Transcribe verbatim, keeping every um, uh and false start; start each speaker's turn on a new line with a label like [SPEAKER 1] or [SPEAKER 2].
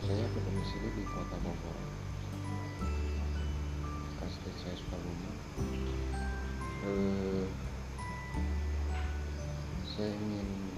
[SPEAKER 1] Saya berdomisili di Kota Bogor, asli saya Sukabumi. Eh, saya ingin